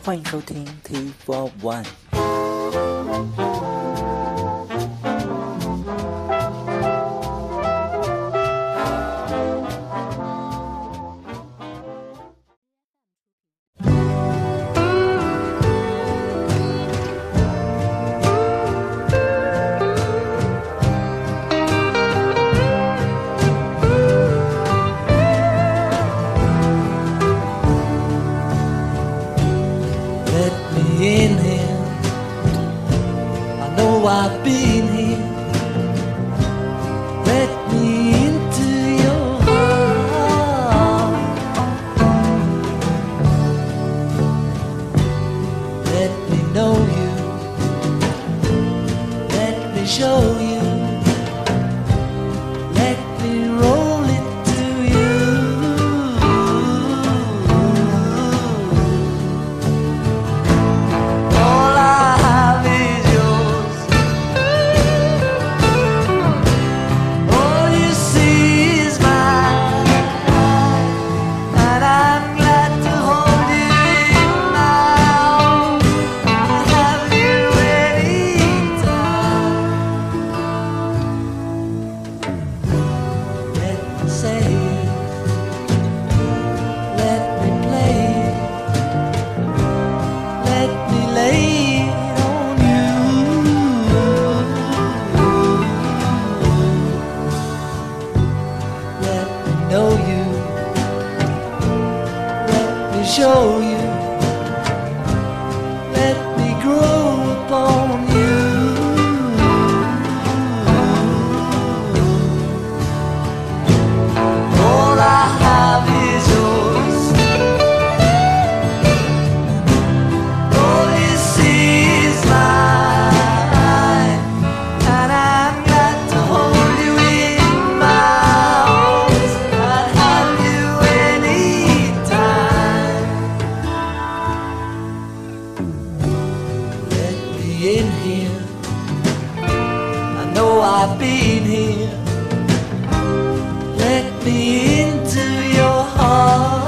欢迎收听 T41。 I've been here. Let me into your heart. Let me know you. Let me show you. Let me roll it to you. All I have is yours. All you see is mine, and I'm glad to hold you in my arms and have you anytime. Let me say it, let me play it, let me lay it on you. Let me know you. Let me show you. Let me grow upon you. All I have is yours. All you see is mine, and I'm glad to hold you in my arms and have you anytime. Let me in here. I know I've been here. Let me into your heart.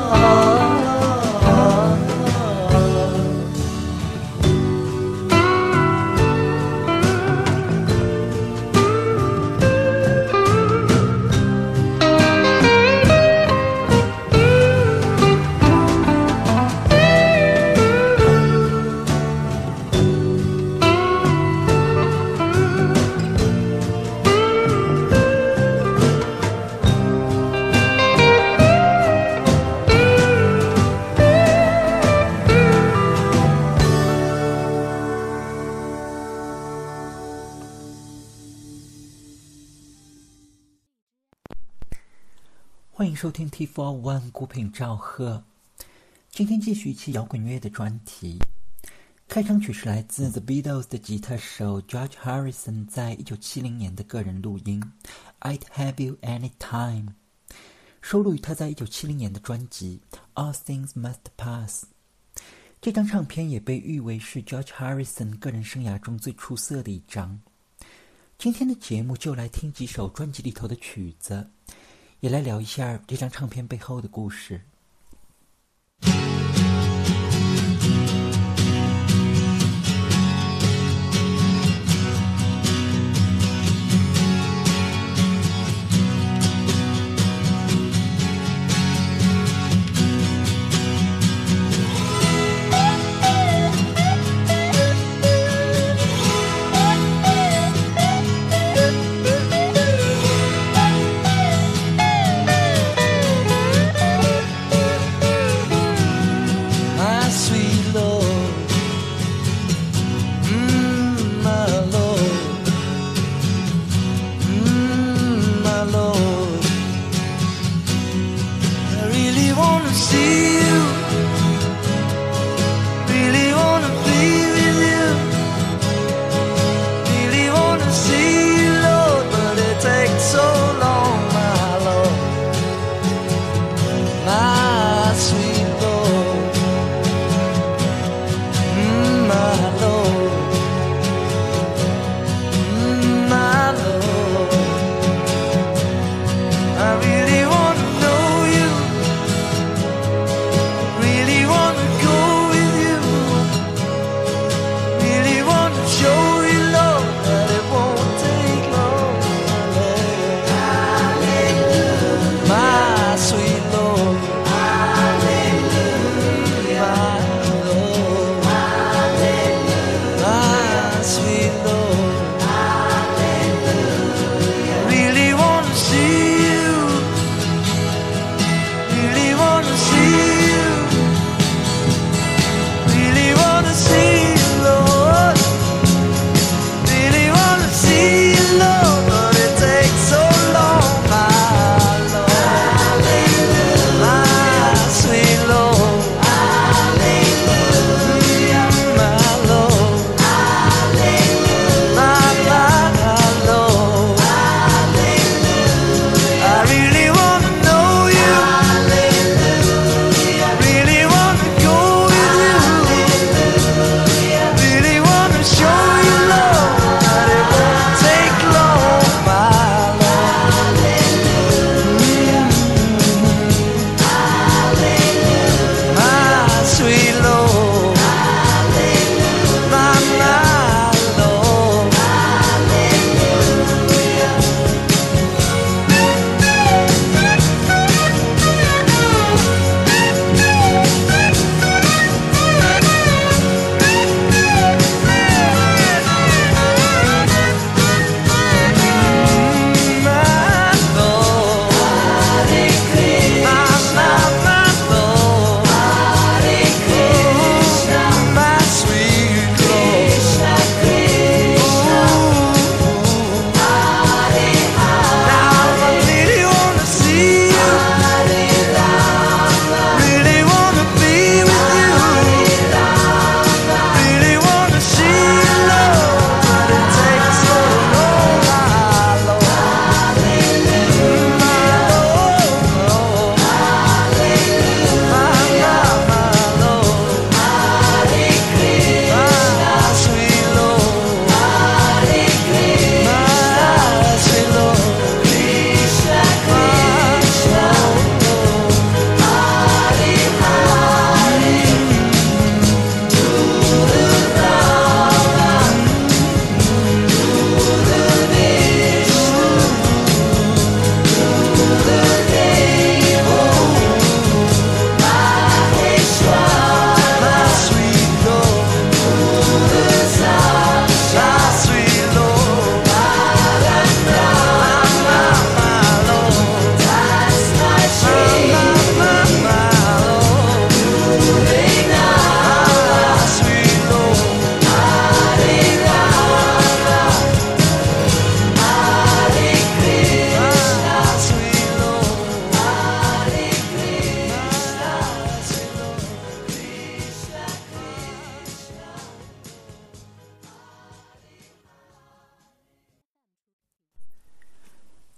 欢迎收听 T41 孤品赵贺。今天继续一期摇滚乐的专题。开场曲是来自 The Beatles 的吉他手 George Harrison 在1970年的个人录音 I'd Have You Anytime， 收录于他在1970年的专辑 All Things Must Pass。 这张唱片也被誉为是 George Harrison 个人生涯中最出色的一张。今天的节目就来听几首专辑里头的曲子，也来聊一下这张唱片背后的故事。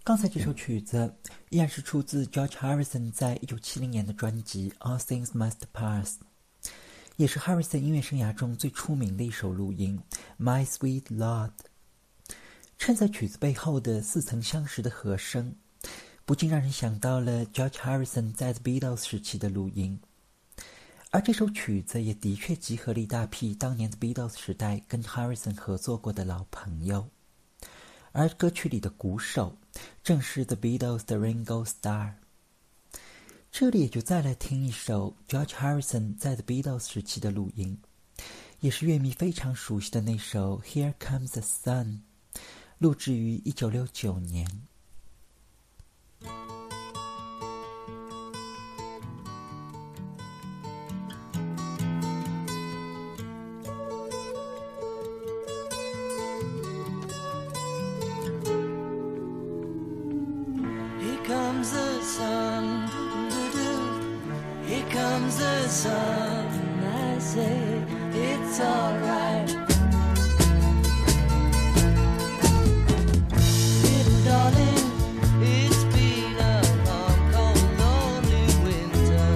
刚才这首曲子依然是出自 George Harrison 在1970年的专辑《All Things Must Pass》，也是 Harrison 音乐生涯中最出名的一首录音《My Sweet Lord》。衬在曲子背后的似曾相识的和声，不禁让人想到了 George Harrison 在 The Beatles 时期的录音。而这首曲子也的确集合了一大批当年 The Beatles 时代跟 Harrison 合作过的老朋友。而歌曲里的鼓手正是 The Beatles 的 Ringo Starr。 这里也就再来听一首 George Harrison 在 The Beatles 时期的录音，也是乐迷非常熟悉的那首 Here Comes the Sun， 录制于1969年。 Here comes the sun, I say it's alright. Little darling, it's been a long, cold, lonely winter.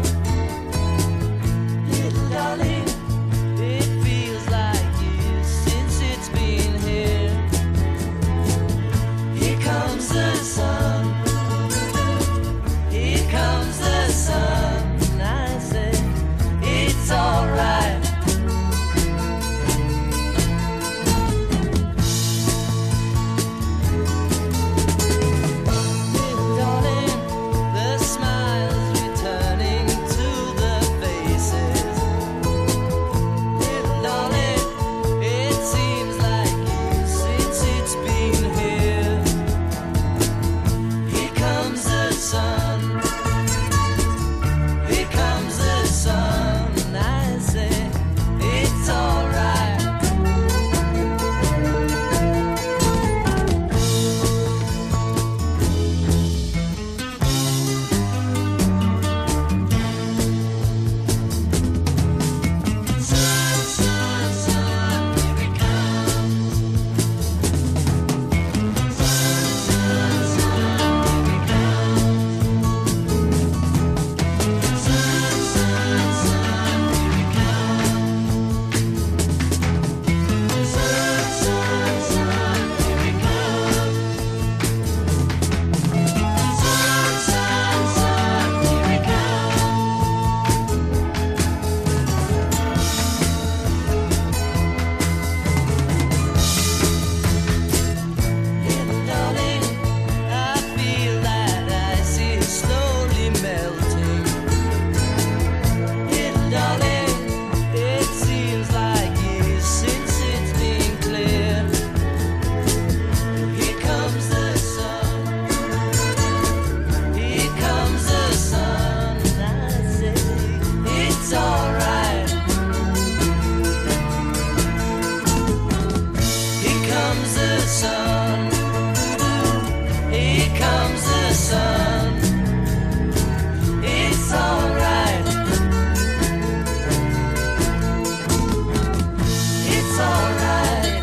Little darling, it feels like years since it's been here. Here comes the sun, here comes the sun.I say it's alright. Little darling, the smiles returning to the faces. Little darling, it seems like years since it's been here. Here comes the sun.Here comes the sun, I say it's alright. Sun, sun, sun, here it comes. Sun, sun, sun, here it comes.Sun, sun, sun, here it comes. Sun, sun, sun, here it comes. Sun, sun, sun, here it comes.Little darling, I feel that ice is slowly melting.Little darling, it seems like years since it's been clear. Here comes the sun, here comes the sun, I say it's alright. Here comes the sun, here comes the sun, it's alright.It's alright.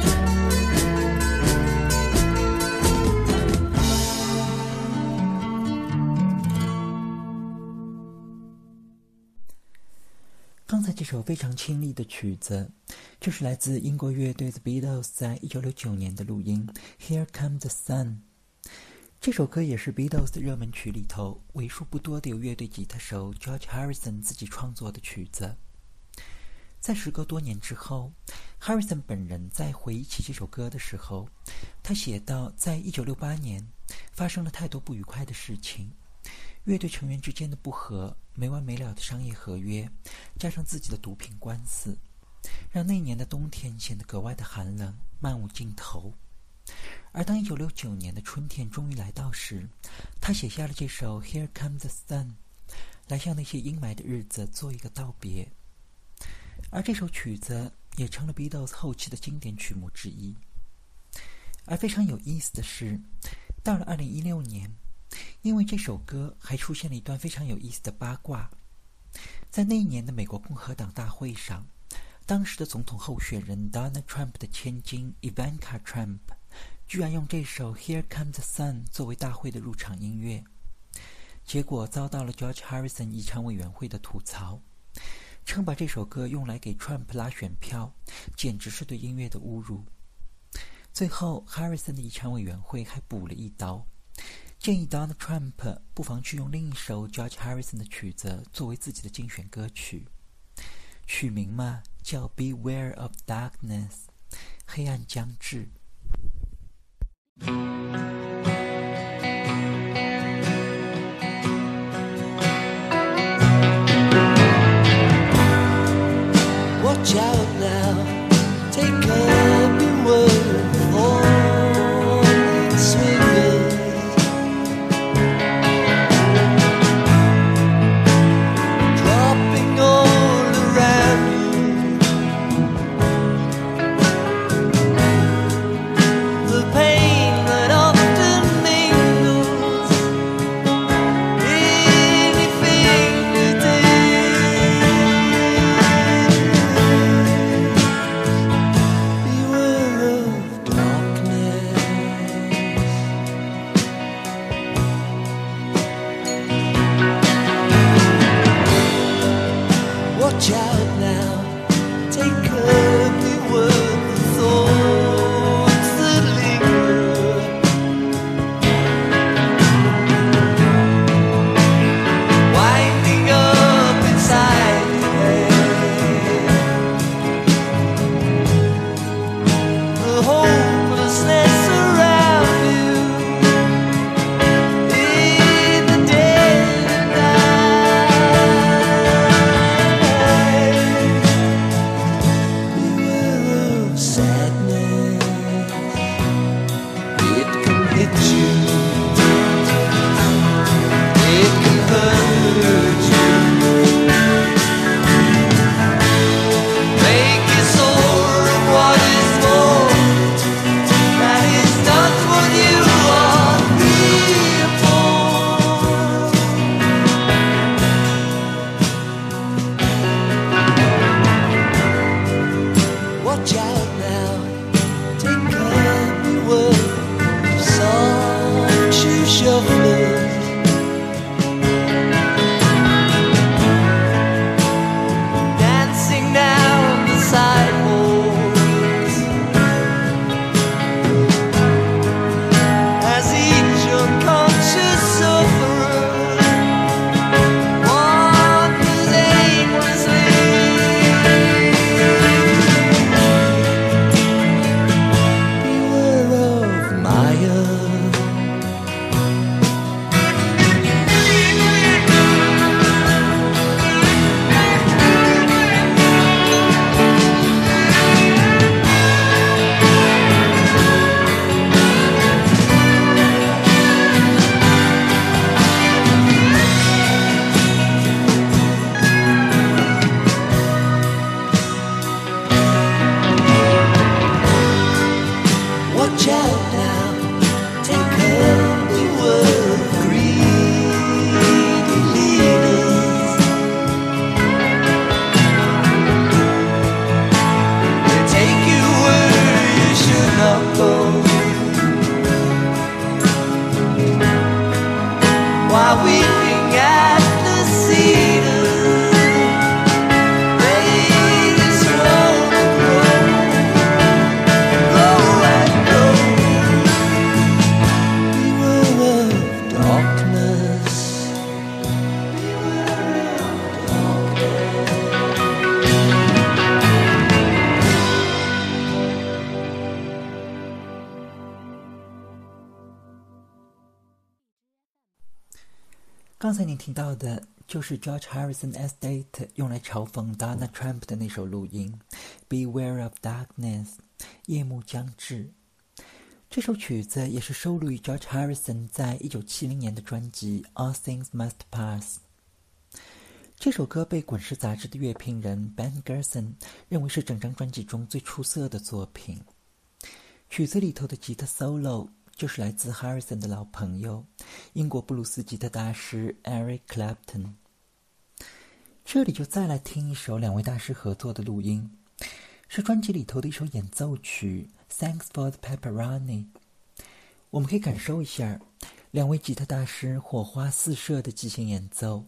刚才这首非常清丽的曲子，就是来自英国乐队 The Beatles 在1969年的录音 Here Comes the Sun。 这首歌也是 Beatles 的热门曲里头为数不多的由乐队吉他手 George Harrison 自己创作的曲子。在时隔多年之后， Harrison 本人在回忆起这首歌的时候，他写道，在1968年发生了太多不愉快的事情，乐队成员之间的不和，没完没了的商业合约，加上自己的毒品官司，让那年的冬天显得格外的寒冷，漫无尽头。而当1969年的春天终于来到时，他写下了这首 Here Comes the Sun， 来向那些阴霾的日子做一个道别。而这首曲子也成了 Beatles 后期的经典曲目之一。而非常有意思的是，到了2016年，因为这首歌还出现了一段非常有意思的八卦。在那一年的美国共和党大会上，当时的总统候选人 Donald Trump 的千金 Ivanka Trump 居然用这首《Here Comes the Sun》作为大会的入场音乐，结果遭到了 George Harrison 议场委员会的吐槽，称把这首歌用来给 Trump 拉选票，简直是对音乐的侮辱。最后 Harrison 的议场委员会还补了一刀，建议 Donald Trump 不妨去用另一首 George Harrison 的曲子作为自己的竞选歌曲，曲名嘛叫 Beware of Darkness， 黑暗将至。 Watch out now, take up your word falling swingers. Dropping all around you. The pain that often mingles in your fingertips. Watch out now, take up the word for thoughts that linger. Winding up inside your head. The hopelessness around you in the dead of night. Beware of sadness, it can hit you, it can hurt you, make you sore of what is more. That is not what you are here for. Watch out now, take up your word, soft shoe shufflers. Dancing down the sidewalks as each unconscious sufferer wanders aimlessly. Beware of Maya. Watch out now, take up the word of greedy leaders. They take you where you should not go, while weeping at the cedars. They just roll and grow and grow. Beware of darkness. Beware of darkness. 刚才您听到的就是 George Harrison Estate 用来嘲讽 Donald Trump 的那首录音 Beware of Darkness， 夜幕将至。这首曲子也是收录于 George Harrison 在1970年的专辑 All Things Must Pass。这首歌被滚石杂志的乐评人 Ben Gerson 认为是整张专辑中最出色的作品。曲子里头的吉他 solo 就是来自 Harrison 的老朋友英国布鲁斯吉他大师 Eric Clapton。这里就再来听一首两位大师合作的录音，是专辑里头的一首演奏曲 Thanks for the Pepperoni， 我们可以感受一下两位吉他大师火花四射的即兴演奏。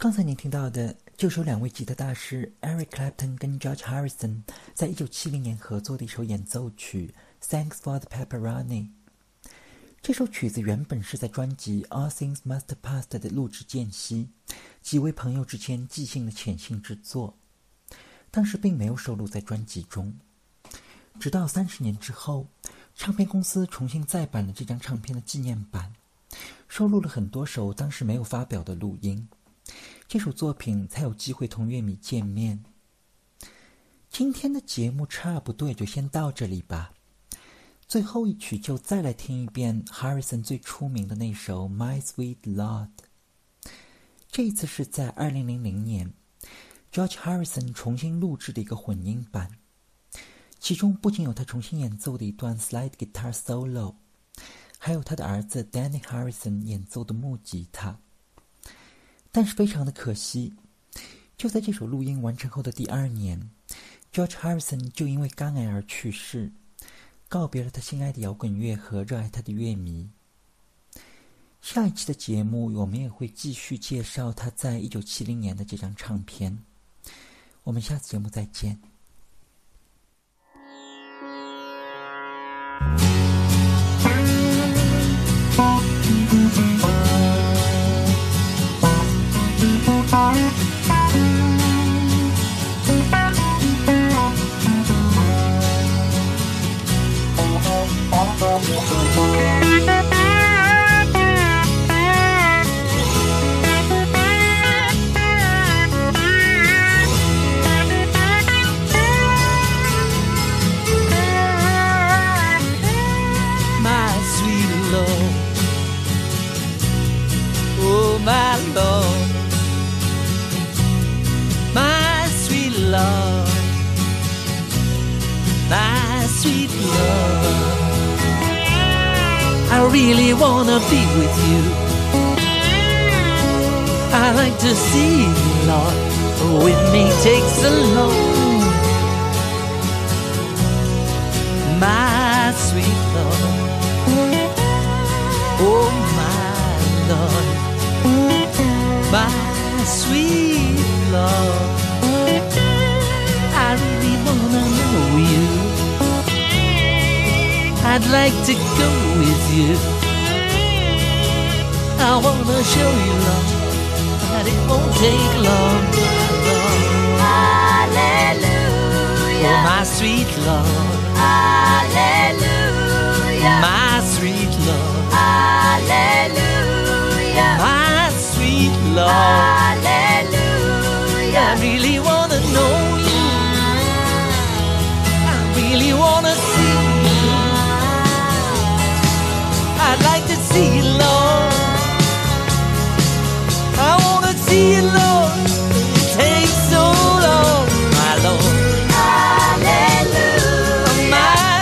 刚才您听到的就是由两位吉他大师 Eric Clapton 跟 George Harrison 在1970年合作的一首演奏曲 Thanks for the Pepperoni。 这首曲子原本是在专辑 All Things Must Pass 的录制间隙，几位朋友之间即兴的潜心之作，当时并没有收录在专辑中。直到30年之后，唱片公司重新再版了这张唱片的纪念版，收录了很多首当时没有发表的录音，这首作品才有机会同乐迷见面。今天的节目差不多也就先到这里吧，最后一曲就再来听一遍 Harrison 最出名的那首 My Sweet Lord。 这一次是在2000年 George Harrison 重新录制的一个混音版，其中不仅有他重新演奏的一段 slide guitar solo， 还有他的儿子 Danny Harrison 演奏的木吉他。但是非常的可惜，就在这首录音完成后的第2年， George Harrison 就因为肝癌而去世，告别了他心爱的摇滚乐和热爱他的乐迷。下一期的节目我们也会继续介绍他在1970年的这张唱片，我们下次节目再见。 I really wanna be with you. I like to see you, Lord, with me takes so long. My sweet Lord, oh my Lord, my sweet Lord, I really wanna know you. I'd like to go with you. I wanna show you, Lord, that it won't take long. Hallelujah. Oh, my sweet Lord. Hallelujah. My sweet Lord. Hallelujah. My sweet Lord. Hallelujah. I really wanna know you. I really wanna see you. I'd like to see you, Lord. I wanna see you, Lord. It takes so long, my Lord. Hallelujah. My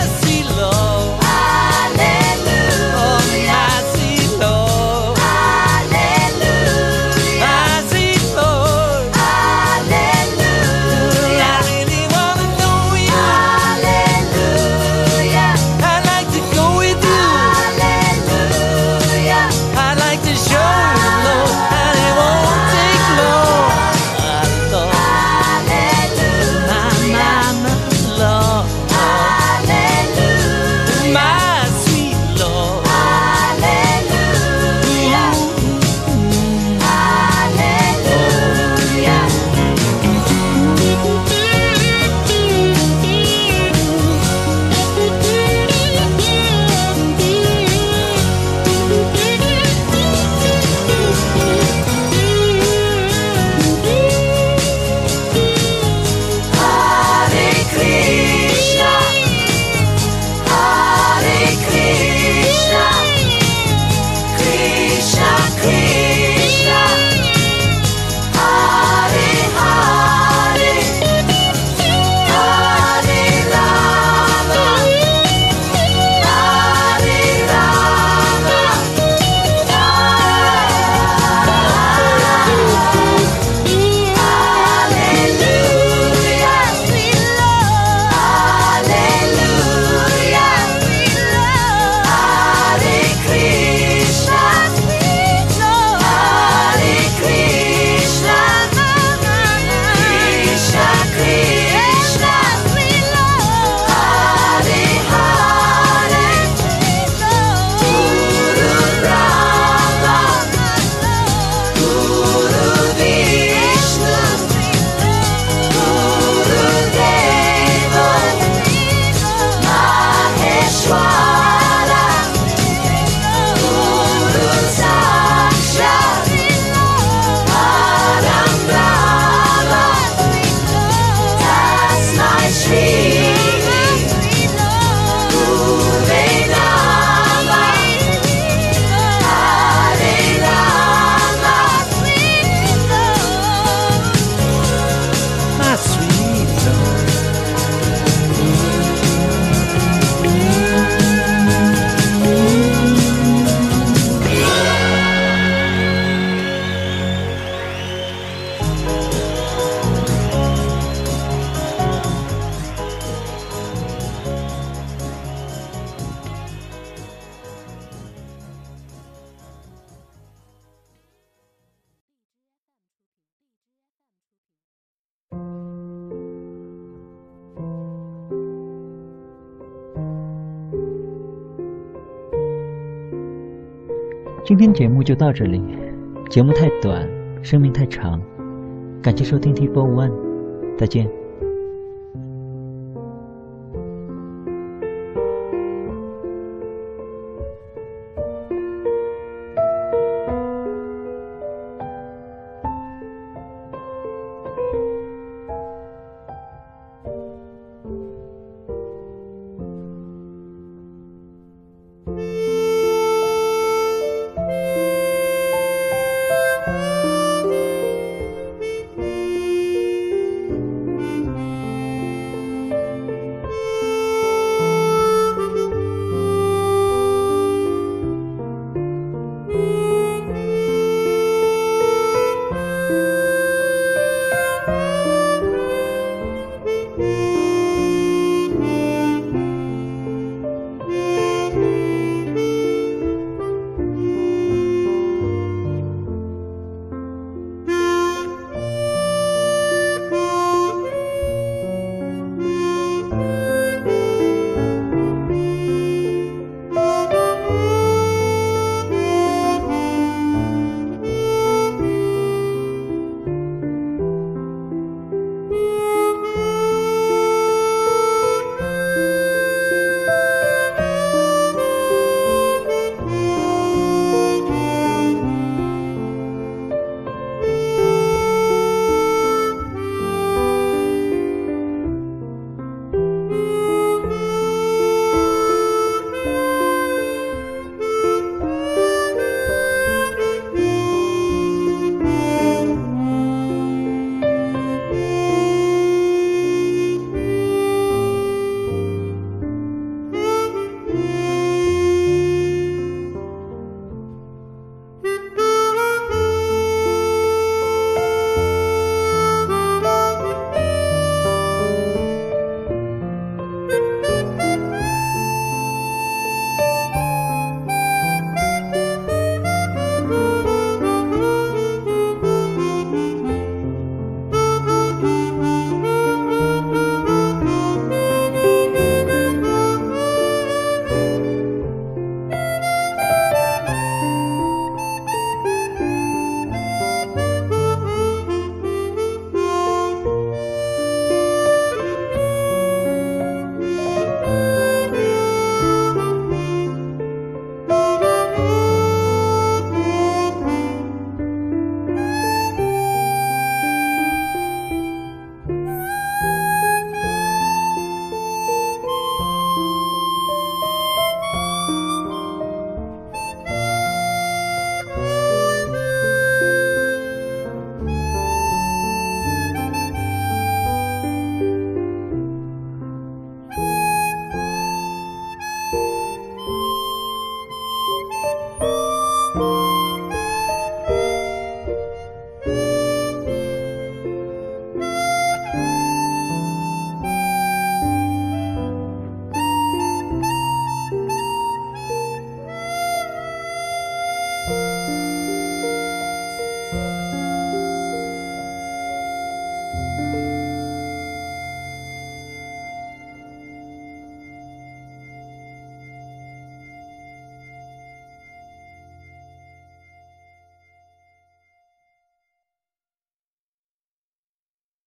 今天节目就到这里，节目太短，生命太长，感谢收听 T4One，再见。